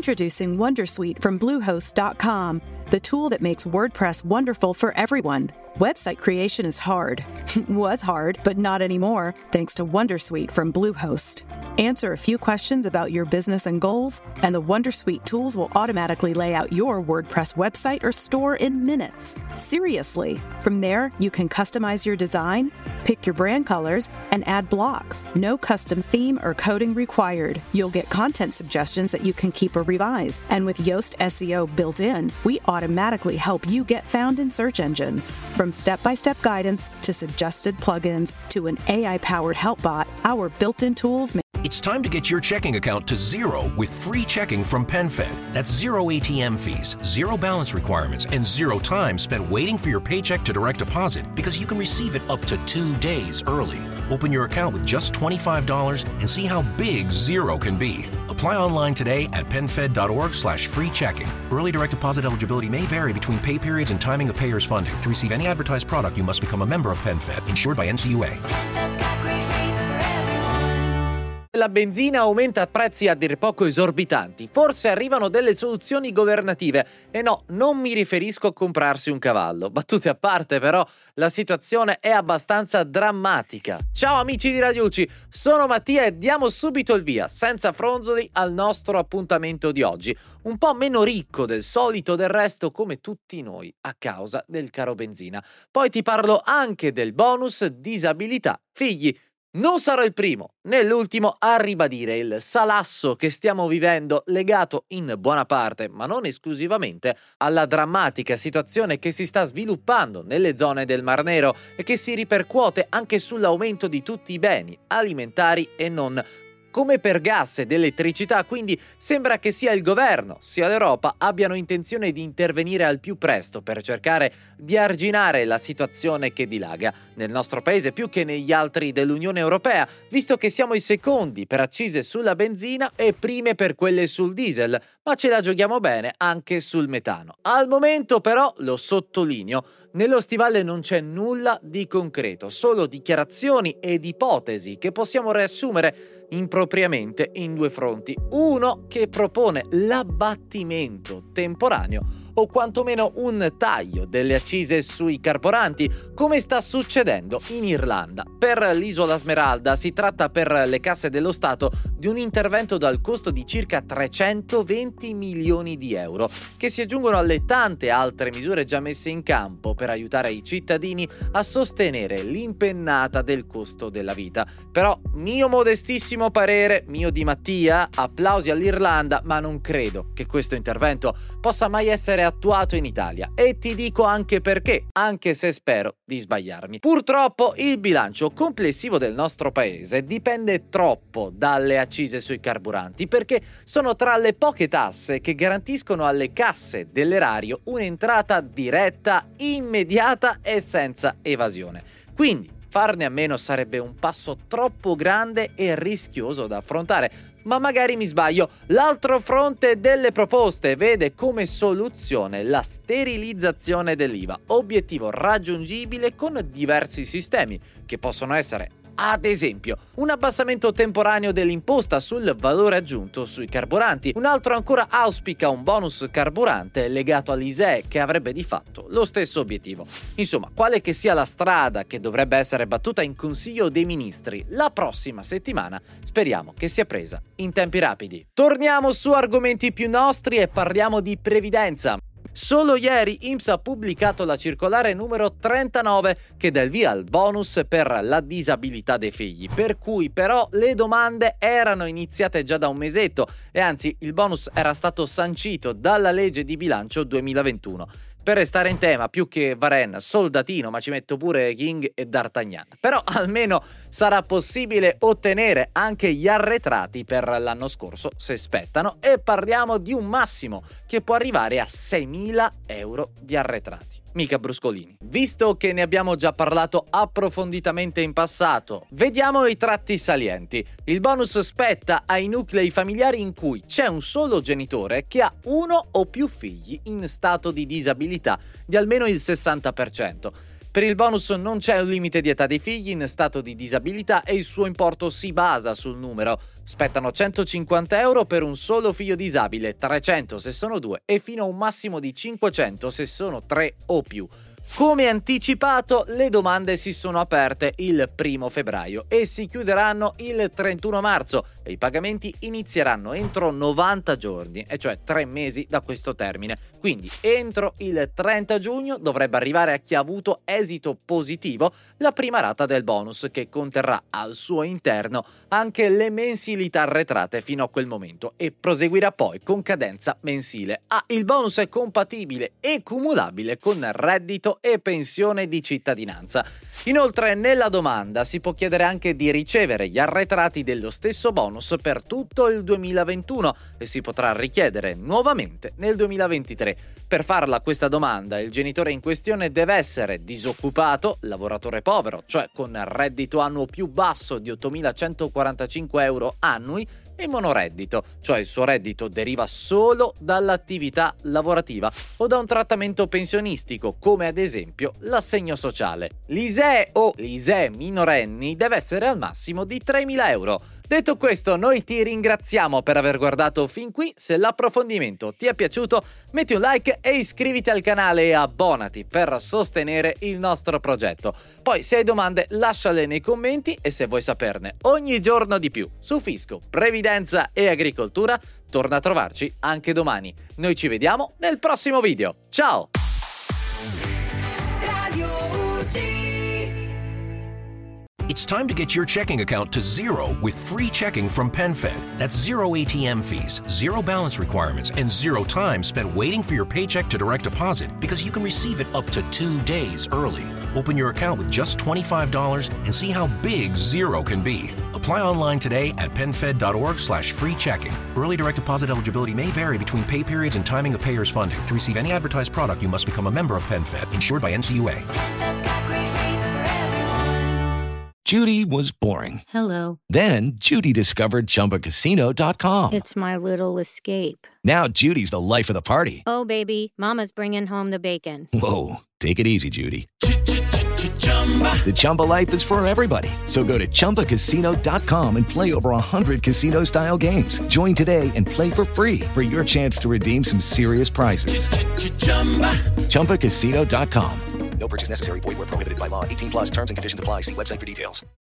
Introducing Wondersuite from Bluehost.com, the tool that makes WordPress wonderful for everyone. Website creation is hard. Was hard, but not anymore, thanks to Wondersuite from Bluehost. Answer a few questions about your business and goals, and the Wondersuite tools will automatically lay out your WordPress website or store in minutes. Seriously. From there, you can customize your design, pick your brand colors, and add blocks. No custom theme or coding required. You'll get content suggestions that you can keep or revise. And with Yoast SEO built in, we automatically help you get found in search engines. From step-by-step guidance to suggested plugins to an AI-powered help bot, our built-in tools make It's time to get your checking account to zero with free checking from PenFed. That's zero ATM fees, zero balance requirements, and zero time spent waiting for your paycheck to direct deposit because you can receive it up to 2 days early. Open your account with just $25 and see how big zero can be. Apply online today at PenFed.org/free checking. Early direct deposit eligibility may vary between pay periods and timing of payers' funding. To receive any advertised product, you must become a member of PenFed, insured by NCUA. La benzina aumenta prezzi a dir poco esorbitanti. Forse arrivano delle soluzioni governative. E no, non mi riferisco a comprarsi un cavallo. Battute a parte, però, la situazione è abbastanza drammatica. Ciao amici di Radio UCI, sono Mattia e diamo subito il via, senza fronzoli, al nostro appuntamento di oggi. Un po' meno ricco del solito, del resto, come tutti noi, a causa del caro benzina. Poi ti parlo anche del bonus disabilità figli. Non sarò il primo né l'ultimo a ribadire il salasso che stiamo vivendo, legato in buona parte, ma non esclusivamente, alla drammatica situazione che si sta sviluppando nelle zone del Mar Nero e che si ripercuote anche sull'aumento di tutti i beni alimentari e non, come per gas ed elettricità. Quindi sembra che sia il governo sia l'Europa abbiano intenzione di intervenire al più presto per cercare di arginare la situazione che dilaga nel nostro paese più che negli altri dell'Unione Europea, visto che siamo i secondi per accise sulla benzina e prime per quelle sul diesel, ma ce la giochiamo bene anche sul metano. Al momento però, lo sottolineo, nello stivale non c'è nulla di concreto, solo dichiarazioni ed ipotesi che possiamo riassumere impropriamente in 2 fronti. Uno che propone l'abbattimento temporaneo o quantomeno un taglio delle accise sui carburanti, come sta succedendo in Irlanda. Per l'isola Smeralda si tratta per le casse dello Stato di un intervento dal costo di circa 320 milioni di euro, che si aggiungono alle tante altre misure già messe in campo per aiutare i cittadini a sostenere l'impennata del costo della vita. Però, mio modestissimo parere, mio di Mattia, applausi all'Irlanda, ma non credo che questo intervento possa mai essere attuato in Italia, e ti dico anche perché, anche se spero di sbagliarmi. Purtroppo il bilancio complessivo del nostro paese dipende troppo dalle accise sui carburanti, perché sono tra le poche tasse che garantiscono alle casse dell'erario un'entrata diretta, immediata e senza evasione. Quindi farne a meno sarebbe un passo troppo grande e rischioso da affrontare. Ma magari mi sbaglio. L'altro fronte delle proposte vede come soluzione la sterilizzazione dell'IVA, obiettivo raggiungibile con diversi sistemi, che possono essere, ad esempio, un abbassamento temporaneo dell'imposta sul valore aggiunto sui carburanti. Un altro ancora auspica un bonus carburante legato all'ISEE che avrebbe di fatto lo stesso obiettivo. Insomma, quale che sia la strada che dovrebbe essere battuta in Consiglio dei Ministri la prossima settimana, speriamo che sia presa in tempi rapidi. Torniamo su argomenti più nostri e parliamo di previdenza. Solo ieri INPS ha pubblicato la circolare numero 39 che dà il via al bonus per la disabilità dei figli, per cui però le domande erano iniziate già da un mesetto e anzi il bonus era stato sancito dalla legge di bilancio 2021. Per restare in tema, più che Varenne, soldatino, ma ci metto pure King e D'Artagnan. Però almeno sarà possibile ottenere anche gli arretrati per l'anno scorso, se spettano, e parliamo di un massimo che può arrivare a 6.000 euro di arretrati. Mica bruscolini. Visto che ne abbiamo già parlato approfonditamente in passato, vediamo i tratti salienti. Il bonus spetta ai nuclei familiari in cui c'è un solo genitore che ha uno o più figli in stato di disabilità di almeno il 60%. Per il bonus non c'è un limite di età dei figli in stato di disabilità e il suo importo si basa sul numero. Spettano 150 euro per un solo figlio disabile, 300 se sono 2 e fino a un massimo di 500 se sono 3 o più. Come anticipato, le domande si sono aperte il 1 febbraio e si chiuderanno il 31 marzo e i pagamenti inizieranno entro 90 giorni, e cioè 3 mesi da questo termine. Quindi entro il 30 giugno dovrebbe arrivare a chi ha avuto esito positivo la prima rata del bonus, che conterrà al suo interno anche le mensilità arretrate fino a quel momento e proseguirà poi con cadenza mensile. Il bonus è compatibile e cumulabile con reddito e pensione di cittadinanza. Inoltre, nella domanda si può chiedere anche di ricevere gli arretrati dello stesso bonus per tutto il 2021 e si potrà richiedere nuovamente nel 2023. Per farla questa domanda, il genitore in questione deve essere disoccupato, lavoratore povero, cioè con reddito annuo più basso di 8.145 euro annui, e monoreddito, cioè il suo reddito deriva solo dall'attività lavorativa o da un trattamento pensionistico, come ad esempio l'assegno sociale. L'ISEE o l'ISEE minorenni deve essere al massimo di 3.000 euro. Detto questo, noi ti ringraziamo per aver guardato fin qui. Se l'approfondimento ti è piaciuto, metti un like e iscriviti al canale e abbonati per sostenere il nostro progetto. Poi, se hai domande, lasciale nei commenti, e se vuoi saperne ogni giorno di più su fisco, previdenza e agricoltura, torna a trovarci anche domani. Noi ci vediamo nel prossimo video. Ciao! It's time to get your checking account to zero with free checking from PenFed. That's zero ATM fees, zero balance requirements, and zero time spent waiting for your paycheck to direct deposit, because you can receive it up to 2 days early. Open your account with just $25 and see how big zero can be. Apply online today at PenFed.org/free checking. Early direct deposit eligibility may vary between pay periods and timing of payer's funding. To receive any advertised product, you must become a member of PenFed, insured by NCUA. Judy was boring. Hello. Then Judy discovered ChumbaCasino.com. It's my little escape. Now Judy's the life of the party. Oh, baby, mama's bringing home the bacon. Whoa, take it easy, Judy. The Chumba life is for everybody. So go to ChumbaCasino.com and play over 100 casino-style games. Join today and play for free for your chance to redeem some serious prizes. ChumbaCasino.com. No purchase necessary. Void where prohibited by law. 18+ terms and conditions apply. See website for details.